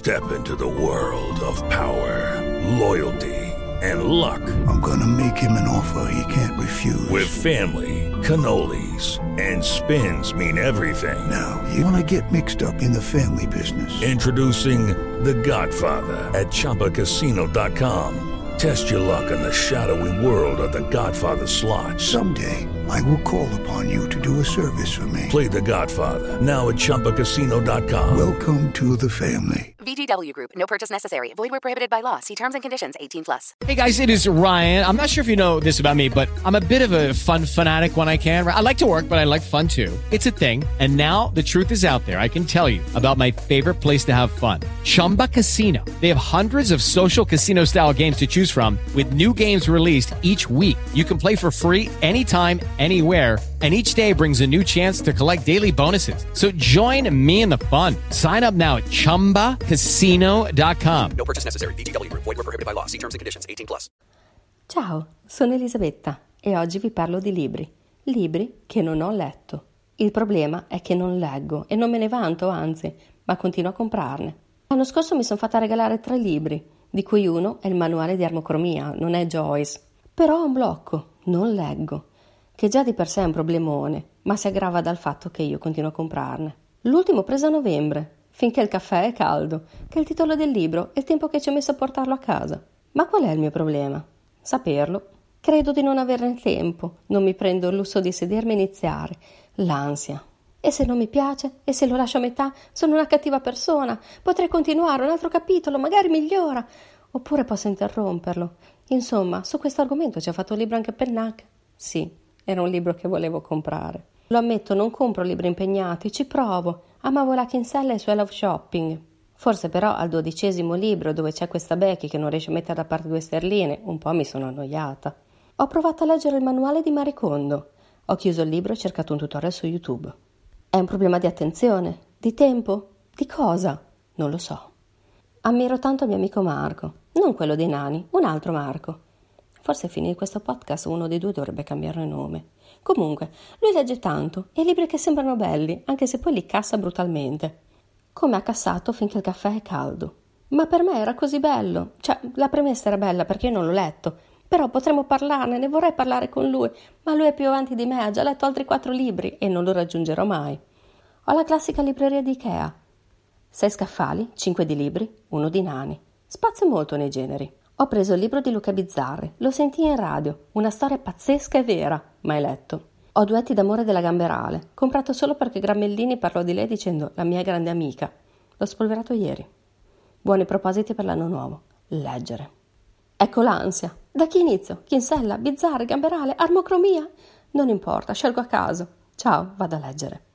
Step into the world of power, loyalty, and luck. I'm gonna make him an offer he can't refuse. With family, cannolis, and spins mean everything. Now, you wanna get mixed up in the family business. Introducing The Godfather at ChumbaCasino.com. Test your luck in the shadowy world of The Godfather slot. Someday, I will call upon you to do a service for me. Play The Godfather now at ChumbaCasino.com. Welcome to the family. VGW Group. No purchase necessary. Void where prohibited by law. See terms and conditions. 18+. Hey guys, it is Ryan. I'm not sure if you know this about me, but I'm a bit of a fun fanatic when I can. I like to work, but I like fun too. It's a thing. And now the truth is out there. I can tell you about my favorite place to have fun. Chumba Casino. They have hundreds of social casino style games to choose from with new games released each week. You can play for free anytime, anywhere. And each day brings a new chance to collect daily bonuses. So join me in the fun. Sign up now at ChumbaCasino.com. No purchase necessary. VGW Group. Void where prohibited by law. See terms and conditions. 18+. Ciao, sono Elisabetta e oggi vi parlo di libri. Libri che non ho letto. Il problema è che non leggo e non me ne vanto, anzi, ma continuo a comprarne. L'anno scorso mi sono fatta regalare 3 libri, di cui uno è il manuale di armocromia, non è Joyce. Però ho un blocco, non leggo, che già di per sé è un problemone, ma si aggrava dal fatto che io continuo a comprarne. L'ultimo preso a novembre, Finché il caffè è caldo, che è il titolo del libro e il tempo che ci ho messo a portarlo a casa. Ma qual è il mio problema? Saperlo. Credo di non averne tempo, non mi prendo il lusso di sedermi e iniziare. L'ansia. E se non mi piace? E se lo lascio a metà? Sono una cattiva persona. Potrei continuare un altro capitolo, magari migliora. Oppure posso interromperlo. Insomma, su questo argomento ci ha fatto un libro anche Pennac. Sì, era un libro che volevo comprare. Lo ammetto, non compro libri impegnati, ci provo. Amavo la Kinsella e i suoi love shopping. Forse però al 12° libro, dove c'è questa Becky che non riesce a mettere da parte 2 sterline, un po' mi sono annoiata. Ho provato a leggere il manuale di Marie Kondo. Ho chiuso il libro e cercato un tutorial su YouTube. È un problema di attenzione? Di tempo? Di cosa? Non lo so. Ammiro tanto il mio amico Marco, non quello dei nani, un altro Marco. Forse a fine di questo podcast uno dei 2 dovrebbe cambiare nome. Comunque, lui legge tanto e libri che sembrano belli, anche se poi li cassa brutalmente. Come ha cassato Finché il caffè è caldo. Ma per me era così bello. Cioè, la premessa era bella perché io non l'ho letto. Però potremmo parlarne, ne vorrei parlare con lui. Ma lui è più avanti di me, ha già letto altri 4 libri e non lo raggiungerò mai. Ho la classica libreria di Ikea. 6 scaffali, 5 di libri, 1 di nani. Spazio molto nei generi. Ho preso il libro di Luca Bizzarri, lo sentii in radio, una storia pazzesca e vera, mai letto. Ho Duetti d'amore della Gamberale, comprato solo perché Gramellini parlò di lei dicendo la mia grande amica. L'ho spolverato ieri. Buoni propositi per l'anno nuovo. Leggere. Ecco l'ansia. Da chi inizio? Kinsella, Bizzarri, Gamberale, armocromia? Non importa, scelgo a caso. Ciao, vado a leggere.